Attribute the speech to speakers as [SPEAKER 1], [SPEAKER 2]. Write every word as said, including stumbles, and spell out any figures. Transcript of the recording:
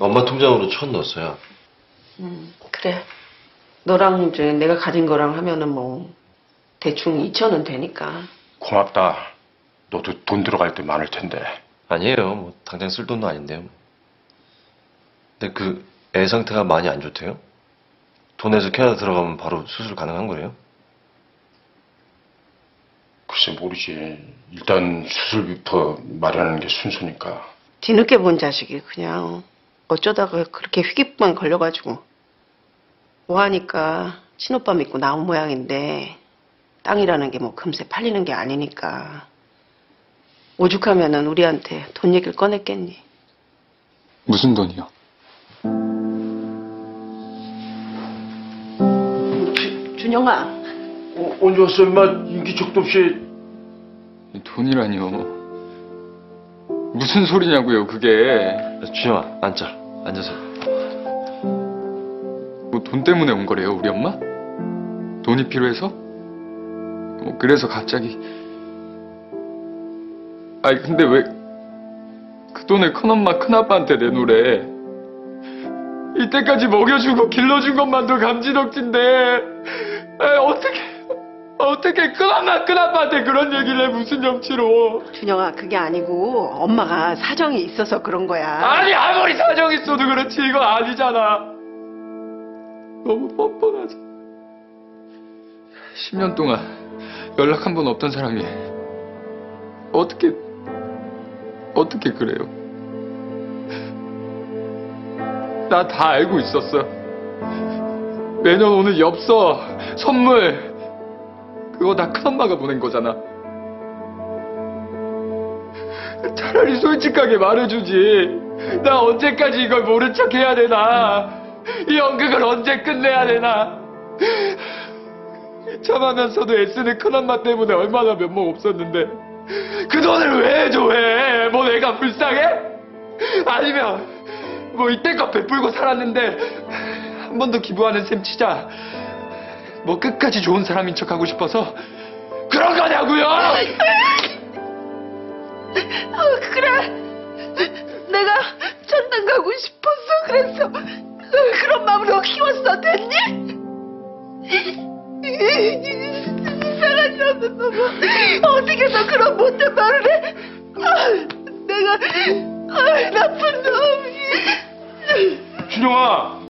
[SPEAKER 1] 엄마 통장으로 천 넣었어요.
[SPEAKER 2] 음, 그래. 너랑 이제 내가 가진 거랑 하면은 뭐 대충 이천은 되니까.
[SPEAKER 3] 고맙다. 너도 돈 들어갈 때 많을 텐데.
[SPEAKER 1] 아니에요. 뭐 당장 쓸 돈도 아닌데요. 근데 그 애 상태가 많이 안 좋대요? 돈에서 캐나다 들어가면 바로 수술 가능한 거예요?
[SPEAKER 3] 글쎄 모르지. 일단 수술비부터 마련하는 게 순서니까.
[SPEAKER 2] 뒤늦게 본 자식이 그냥 어쩌다가 그렇게 휘기만 걸려가지고 뭐 하니까 친오빠 믿고 나온 모양인데 땅이라는 게 뭐 금세 팔리는 게 아니니까 오죽하면은 우리한테 돈 얘기를 꺼냈겠니?
[SPEAKER 4] 무슨 돈이요?
[SPEAKER 2] 주, 준영아,
[SPEAKER 3] 어, 언제 왔어 임마? 인기척도 없이.
[SPEAKER 4] 돈이라니요. 무슨 소리냐고요, 그게.
[SPEAKER 1] 준영아, 앉자. 앉아서.
[SPEAKER 4] 뭐 돈 때문에 온 거래요, 우리 엄마? 돈이 필요해서? 뭐 그래서 갑자기. 아니 근데 왜 그 돈을 큰엄마 큰아빠한테 내놓으래. 이때까지 먹여주고 길러준 것만도 감지덕진데 에, 어떻게 어떻게 큰엄마 큰아빠한테 그런 얘기를 해. 무슨 염치로.
[SPEAKER 2] 준영아 그게 아니고 엄마가 사정이 있어서 그런 거야.
[SPEAKER 4] 아니 아무리 사정 있어도 그렇지 이거 아니잖아. 너무 뻔뻔하지. 십 년 동안 연락 한 번 없던 사람이 어떻게 어떻게 그래요? 나 다 알고 있었어. 매년 오는 엽서, 선물 그거 다 큰엄마가 보낸 거잖아. 차라리 솔직하게 말해주지. 나 언제까지 이걸 모른 척 해야 되나? 이 연극을 언제 끝내야 되나? 참하면서도 애쓰는 큰엄마 때문에 얼마나 면목 없었는데 그 돈을 왜 줘? 왜? 뭐 내가 불쌍해? 아니면 뭐 이때껏 베풀고 살았는데 한 번 더 기부하는 셈 치자. 뭐 끝까지 좋은 사람인 척 하고 싶어서 그런 거냐고요?
[SPEAKER 2] 어, 그래. 내가 천당 가고 싶어서 그래서 그런 마음으로 키웠어. 됐니? 이상한 녀석 놈아. 어떻게 너 그런 못된 말을 해? 아, 내가 아, 나쁜 놈이.
[SPEAKER 3] 준영아,